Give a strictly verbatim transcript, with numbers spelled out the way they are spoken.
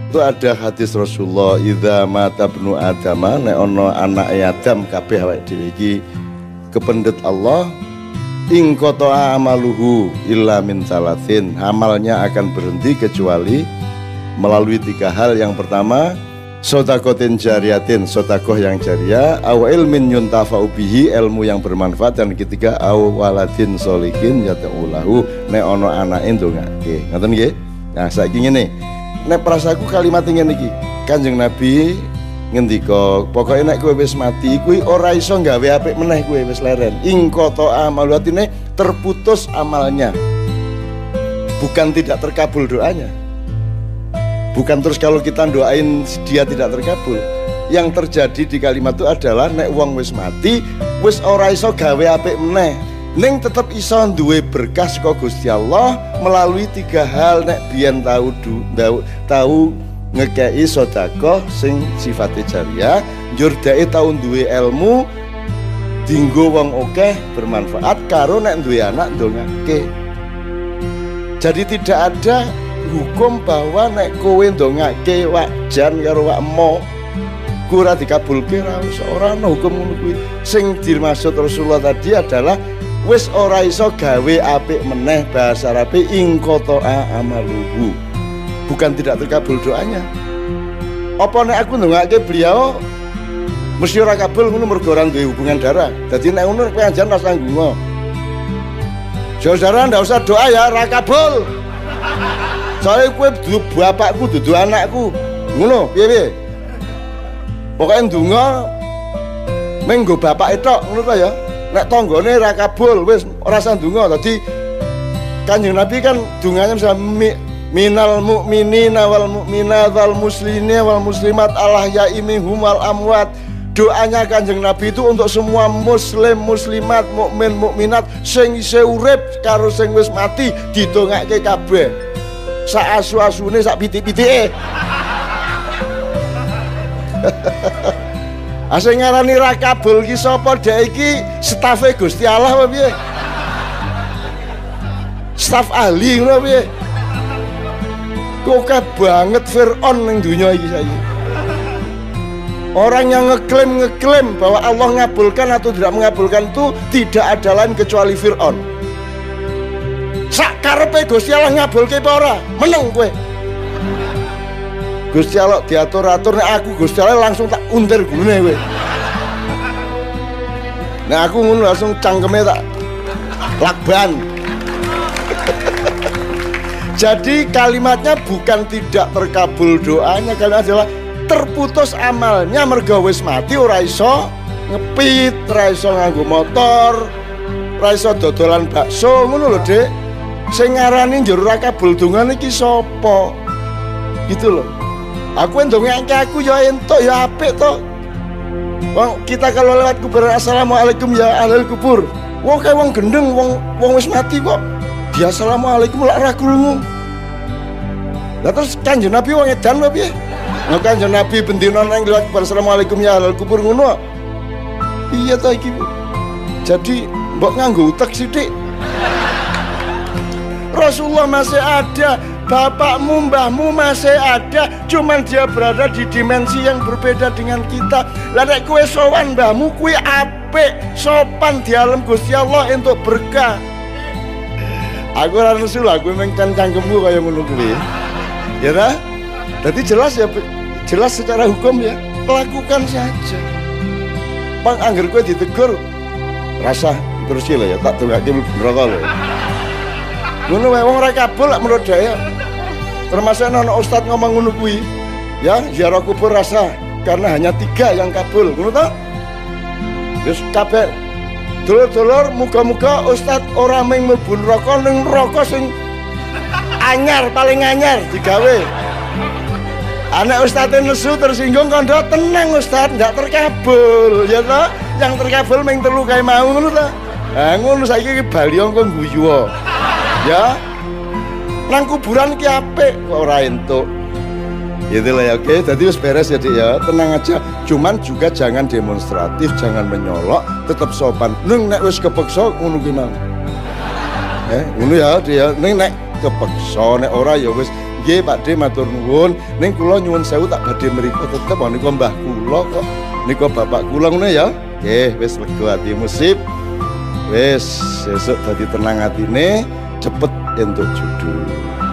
Itu ada hadis Rasulullah, idza mata ibnu Adam, nek ono anak Adam kabeh awake dhewe iki kependet Allah, ing qata amaluhu illa min salasin, amalnya akan berhenti kecuali melalui tiga hal. Yang pertama, sodakotin jariyatin, sodakoh yang jariah, aw ilmin yuntafa'u bihi, ilmu yang bermanfaat, dan ketiga aw waladin solihin yad'ulahu, nek ono anake ndongake. Ngoten nggih. Nah, saiki ngene. Nek prasaku kalimat ngene iki. Kanjeng Nabi ngendika, pokoke nek kowe wis mati kuwi ora iso gawe apik meneh, kowe wis leren. Ing qata amalu, artine terputus amalnya. Bukan tidak terkabul doanya. Bukan terus kalau kita doain dia tidak terkabul. Yang terjadi di kalimat itu adalah nek wong wis mati, wis ora iso gawe apik meneh. Ning tetep iso duwe berkah saka Gusti Allah melalui tiga hal. Nek biyen tahu tahu tahu ngekei sedekah sing sifatnya jariah, njur dhek tau duwe ilmu dinggo wong akeh bermanfaat, karo nek duwe anak ndongake. Jadi tidak ada hukum bahwa nek kowe ndongake wak jan karo wak emo ora dikabulke, ora ana hukum ngono kuwi. Sing dimaksud Rasulullah tadi adalah wis ora iso gawe apik meneh, bahasa Arabe ing qata amaluhu, bukan tidak terkabul doanya. Apa nek aku ndongake beliau mesti ora kabul ngono mergo ora duwe hubungan darah. Dadi nek ngono pengajian ora usah ndonga. Saudara ndak usah doa ya, ora kabul. Soale kowe dudu bapakku, dudu anakku. Ngono, piye-piye? Pokoke ndonga mung nggo bapake tok, ngono ta ya. Nek tanggane ra kabul wis ora usah ndonga. Dadi Kanjeng Nabi kan dungane misal minal mu'minina wal mu'minat wal muslimina wal muslimat Allah ya'imihum wal amwat. Doanya Kanjeng Nabi itu untuk semua muslim muslimat mukmin mukminat sing isih urip karo sing wis mati, didongake kabeh. Sak asu-asune sak pitik-pitike. Asing ngarani ra kabul ki sapa? Dek iki stafe Gusti Allah apa piye? Staf ahli ngono piye? Kok banget Fir'aun ning dunia iki saiki. Orang yang ngeklaim ngeklaim bahwa Allah ngabulkan atau tidak mengabulkan itu tidak ada lain kecuali Fir'aun. Sak karepe Gusti Allah ngabulke apa ora? Meneng kowe. Gusti Allah diatur-atur, nek aku Gusti Allah langsung tak untir gulune kowe. Nah aku ngono langsung cangkeme tak lakban. Jadi kalimatnya bukan tidak terkabul doanya, kalimat adalah terputus amalnya mergo wis mati, ora iso ngepit, ora iso nganggo motor, ora iso dodolan bakso ngono lho, Dik. Sing ngarani njur ora kabul dongane iki sapa? Gitu loh. Aku ndongake aku ya entuk ya apik to. Wong kita kalau lewat kuburan assalamualaikum ya ahlul kubur. Wong kae wong gendeng, wong wong wis mati kok. Dia assalamualaikum lak ra krungu. Lah terus Kanjeng Nabi wong edan apa piye? Nah Kanjeng Nabi bendina nang lewat kuburan assalamualaikum ya ahlul kubur ngono. Iya ta iki. Jadi mbok nganggo utek sithik. Rasulullah masih ada, bapakmu, mbahmu masih ada, cuman dia berada di dimensi yang berbeda dengan kita. Lah nek kowe sowan mbahmu kuwi apik, sopan di alam Gusti Allah untuk berkah. Aku ora nesu, aku mung cangkemmu kaya ngono kuwi. Ya ta? Jadi jelas ya, jelas secara hukum ya, lakukan saja. Bang angger kowe ditegur rasa terus lho ya, tak dongake mlebu neraka lho. Ngono wae wong ora kabul lak menurut saya. Termasuk ana ustaz ngomong ngono kuwi. Ya, ziarah kubur rasa karena hanya tiga yang kabul. Ngono ta? Wis kabeh dulur-dulur muga-muga ustaz ora mung mlebu neraka ning neraka sing anyar paling anyar digawe. Anak ustaz nesu tersinggung kondo tenang ustaz ndak terkabul ya ta? Yang terkabul mung telu kae mau ngono ta? Ha ngono saiki iki baliong kok guyu. Ya, nang kuburan ki apik kok ora entuk. Gitu lah ya, oke. Jadi wis beres ya Dik ya, tenang aja. Cuman juga jangan demonstratif, jangan menyolok, tetap sopan. Neng nek wis kepeksa ngono ki mang. Eh, ngono ya Dik ya. Neng nek kepeksa, nek ora ya wis nggih Pakde matur nuwun. Ning kula nyuwun sewu tak badhe mriku tetep menika mbah kula kok. Nika bapak kula ngono ya. Nggih wis lega atimu sip. Wis sesuk dadi tenang atine, cepet entuk judul.